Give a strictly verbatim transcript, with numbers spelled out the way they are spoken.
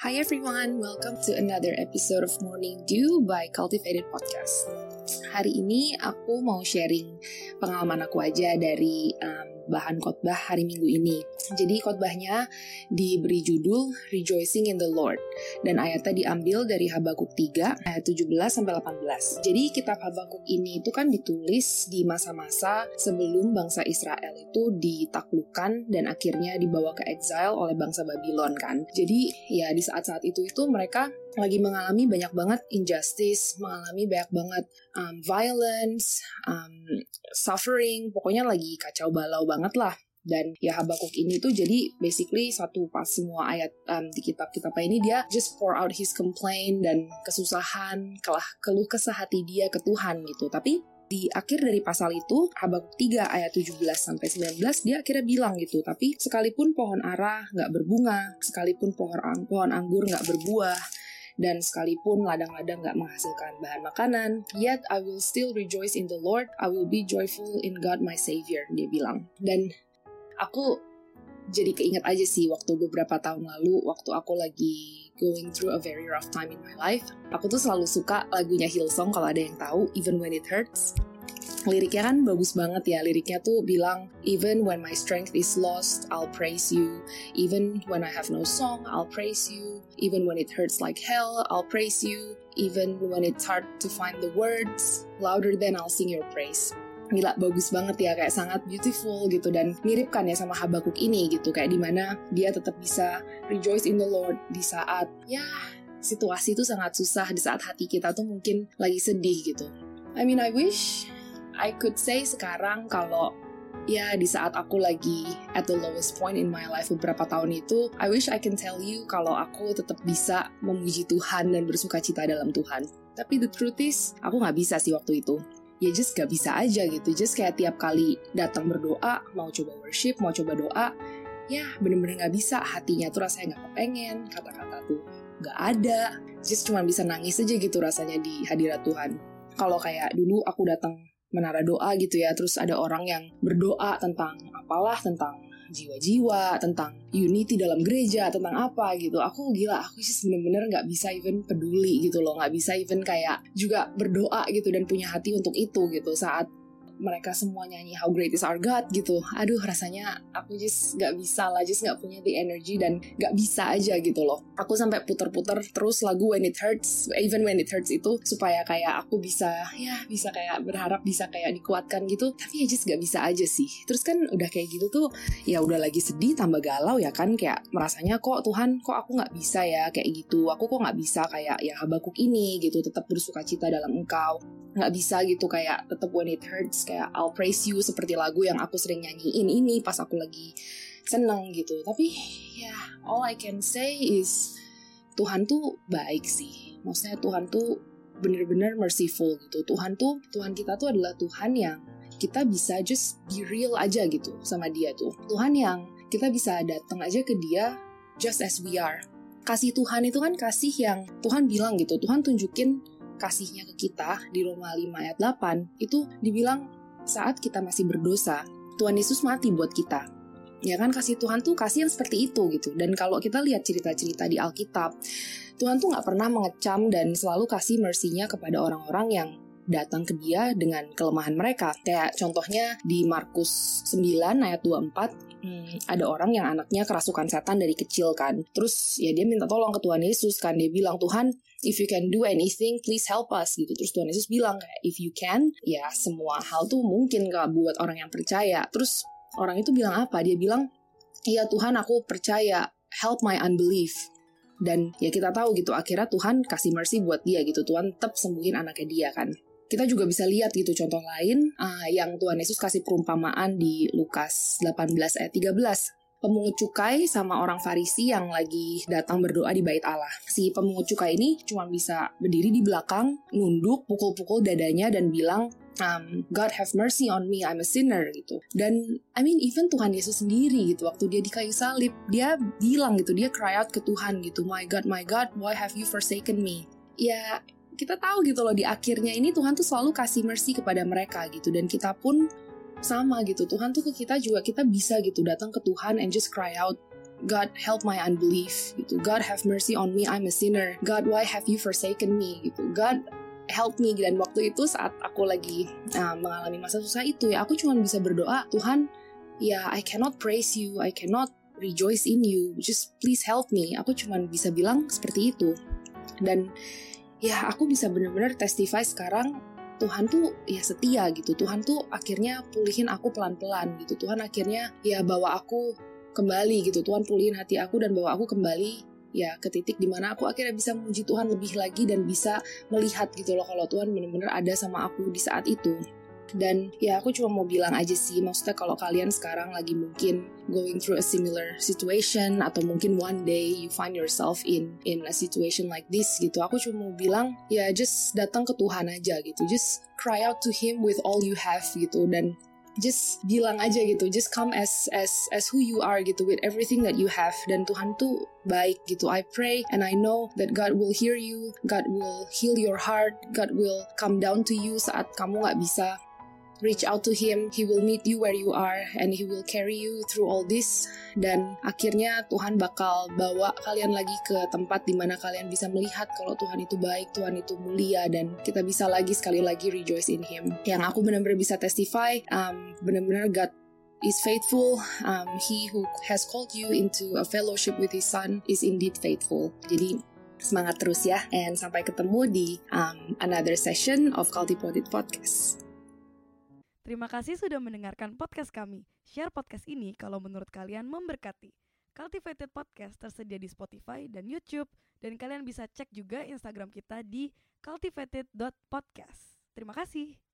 Hi everyone, welcome to another episode of Morning Dew by Cultivated Podcast. Hari ini aku mau sharing pengalaman aku aja dari um, bahan khotbah hari Minggu ini. Jadi khotbahnya diberi judul Rejoicing in the Lord, dan ayatnya diambil dari Habakuk tiga ayat tujuh belas sampai delapan belas. Jadi kitab Habakuk ini itu kan ditulis di masa-masa sebelum bangsa Israel itu ditaklukkan dan akhirnya dibawa ke exile oleh bangsa Babylon kan. Jadi ya di saat-saat itu itu mereka lagi mengalami banyak banget injustice, mengalami banyak banget um, violence, um, suffering, pokoknya lagi kacau balau banget lah. Dan ya Habakuk ini tuh jadi basically satu pas semua ayat um, di kitab-kitabnya ini dia just pour out his complaint dan kesusahan, kelah keluh kesah hati dia ke Tuhan gitu. Tapi di akhir dari pasal itu, Habakuk tiga ayat tujuh belas sampai sembilan belas dia akhirnya bilang gitu, tapi sekalipun pohon ara nggak berbunga, sekalipun pohon, pohon anggur nggak berbuah, dan sekalipun ladang-ladang gak menghasilkan bahan makanan, yet I will still rejoice in the Lord, I will be joyful in God my Savior, dia bilang. Dan aku jadi keinget aja sih waktu beberapa tahun lalu, waktu aku lagi going through a very rough time in my life, aku tuh selalu suka lagunya Hillsong kalau ada yang tahu, Even When It Hurts. Liriknya kan bagus banget ya, liriknya tuh bilang, even when my strength is lost, I'll praise you. Even when I have no song, I'll praise you. Even when it hurts like hell, I'll praise you. Even when it's hard to find the words, louder than I'll sing your praise. Gila, bagus banget ya, kayak sangat beautiful gitu, dan mirip kan ya sama Habakuk ini gitu, kayak dimana dia tetap bisa rejoice in the Lord di saat, ya situasi itu sangat susah, di saat hati kita tuh mungkin lagi sedih gitu. I mean, I wish I could say sekarang kalau ya di saat aku lagi at the lowest point in my life beberapa tahun itu, I wish I can tell you kalau aku tetap bisa memuji Tuhan dan bersuka cita dalam Tuhan. Tapi the truth is, aku gak bisa sih waktu itu. Ya just gak bisa aja gitu, just kayak tiap kali datang berdoa, mau coba worship, mau coba doa, ya bener-bener gak bisa, hatinya tuh rasanya gak kepengen, kata-kata tuh gak ada, just cuma bisa nangis aja gitu rasanya di hadirat Tuhan. Kalau kayak dulu aku datang menara doa gitu ya, terus ada orang yang berdoa tentang apalah, tentang jiwa-jiwa, tentang unity dalam gereja, tentang apa gitu, aku gila, aku sih bener-bener gak bisa even peduli gitu loh, gak bisa even kayak juga berdoa gitu dan punya hati untuk itu gitu, saat mereka semua nyanyi How Great Is Our God gitu, aduh rasanya aku just gak bisa lah, just gak punya the energy dan gak bisa aja gitu loh. Aku sampai puter-puter terus lagu When It Hurts, Even When It Hurts itu supaya kayak aku bisa, ya bisa kayak berharap bisa kayak dikuatkan gitu, tapi ya just gak bisa aja sih. Terus kan udah kayak gitu tuh, ya udah lagi sedih tambah galau ya kan, kayak merasanya kok Tuhan, kok aku gak bisa ya kayak gitu, aku kok gak bisa kayak ya Habakuk ini gitu, tetap bersuka cita dalam Engkau, gak bisa gitu kayak tetap when it hurts, kayak I'll praise you seperti lagu yang aku sering nyanyiin ini pas aku lagi seneng gitu. Tapi ya all I can say is Tuhan tuh baik sih, maksudnya Tuhan tuh bener-bener merciful gitu. Tuhan tuh, Tuhan kita tuh adalah Tuhan yang kita bisa just be real aja gitu sama dia tuh. Tuhan yang kita bisa datang aja ke dia just as we are. Kasih Tuhan itu kan kasih yang Tuhan bilang gitu, Tuhan tunjukin kasihnya ke kita di Roma lima ayat delapan itu dibilang saat kita masih berdosa, Tuhan Yesus mati buat kita. Ya kan, kasih Tuhan tuh kasih yang seperti itu gitu. Dan kalau kita lihat cerita-cerita di Alkitab, Tuhan tuh gak pernah mengecam dan selalu kasih mercy-nya kepada orang-orang yang datang ke dia dengan kelemahan mereka. Kayak contohnya di Markus sembilan ayat dua puluh empat, hmm, ada orang yang anaknya kerasukan setan dari kecil kan. Terus ya dia minta tolong ke Tuhan Yesus kan. Dia bilang, Tuhan, if you can do anything, please help us gitu. Terus Tuhan Yesus bilang kayak, if you can, ya semua hal tuh mungkin gak buat orang yang percaya. Terus orang itu bilang apa? Dia bilang, iya Tuhan, aku percaya, help my unbelief. Dan ya kita tahu gitu, akhirnya Tuhan kasih mercy buat dia gitu. Tuhan tetap sembuhin anaknya dia kan. Kita juga bisa lihat gitu contoh lain uh, yang Tuhan Yesus kasih perumpamaan di Lukas delapan belas ayat tiga belas. Pemungut cukai sama orang Farisi yang lagi datang berdoa di bait Allah. Si pemungut cukai ini cuma bisa berdiri di belakang, nunduk, pukul-pukul dadanya dan bilang, um, God have mercy on me, I'm a sinner gitu. Dan I mean even Tuhan Yesus sendiri gitu, waktu dia di kayu salib, dia bilang gitu, dia cry out ke Tuhan gitu, My God, my God, why have you forsaken me? Ya kita tahu gitu loh, di akhirnya ini Tuhan tuh selalu kasih mercy kepada mereka gitu. Dan kita pun sama gitu, Tuhan tuh ke kita juga, kita bisa gitu datang ke Tuhan and just cry out God help my unbelief gitu. God have mercy on me, I'm a sinner. God, why have you forsaken me gitu. God help me. Dan waktu itu saat aku lagi uh, mengalami masa susah itu ya, aku cuma bisa berdoa, Tuhan, ya I cannot praise you, I cannot rejoice in you, just please help me. Aku cuma bisa bilang seperti itu. Dan ya aku bisa benar-benar testify sekarang, Tuhan tuh ya setia gitu. Tuhan tuh akhirnya pulihin aku pelan-pelan gitu. Tuhan akhirnya ya bawa aku kembali gitu. Tuhan pulihin hati aku dan bawa aku kembali ya ke titik dimana aku akhirnya bisa memuji Tuhan lebih lagi dan bisa melihat gitu loh kalau Tuhan benar-benar ada sama aku di saat itu. Dan ya aku cuma mau bilang aja sih, maksudnya kalau kalian sekarang lagi mungkin going through a similar situation atau mungkin one day you find yourself in in a situation like this gitu, aku cuma mau bilang ya just datang ke Tuhan aja gitu, just cry out to Him with all you have gitu, dan just bilang aja gitu, just come as as as who you are gitu, with everything that you have. Dan Tuhan tuh baik gitu. I pray and I know that God will hear you, God will heal your heart, God will come down to you saat kamu gak bisa reach out to Him. He will meet you where you are and He will carry you through all this. Dan akhirnya Tuhan bakal bawa kalian lagi ke tempat dimana kalian bisa melihat kalau Tuhan itu baik, Tuhan itu mulia, dan kita bisa lagi sekali lagi rejoice in Him. Yang aku benar-benar bisa testify, um, benar-benar God is faithful. Um, he who has called you into a fellowship with His Son is indeed faithful. Jadi semangat terus ya, and sampai ketemu di um, another session of Cultivated Podcast. Terima kasih sudah mendengarkan podcast kami. Share podcast ini kalau menurut kalian memberkati. Cultivated Podcast tersedia di Spotify dan YouTube, dan kalian bisa cek juga Instagram kita di cultivated dot podcast. Terima kasih.